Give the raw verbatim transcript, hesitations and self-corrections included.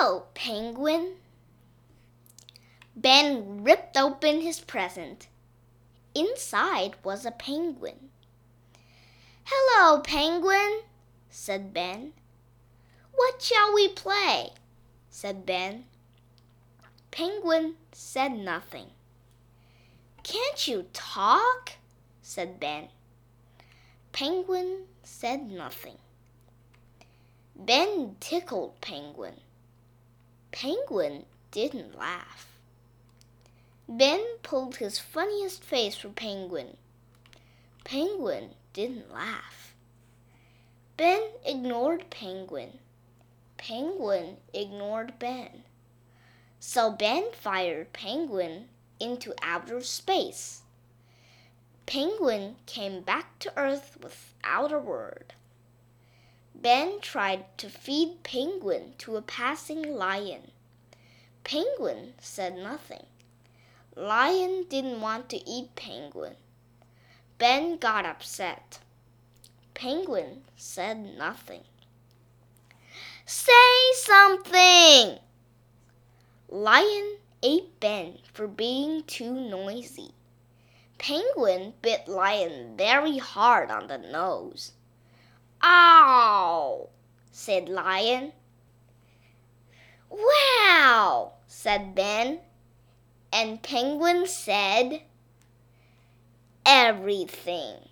Hello, Penguin. Ben ripped open his present. Inside was a penguin. Hello, Penguin, said Ben. What shall we play? Said Ben. Penguin said nothing. Can't you talk? Said Ben. Penguin said nothing. Ben tickled Penguin. Penguin didn't laugh. Ben pulled his funniest face for Penguin. Penguin didn't laugh. Ben ignored Penguin. Penguin ignored Ben. So Ben fired Penguin into outer space. Penguin came back to Earth without a word. Ben tried to feed Penguin to a passing lion. Penguin said nothing. Lion didn't want to eat Penguin. Ben got upset. Penguin said nothing. Say something! Lion ate Ben for being too noisy. Penguin bit Lion very hard on the nose. Ow! Said Lion. Wow! Said Ben. And Penguin said, everything.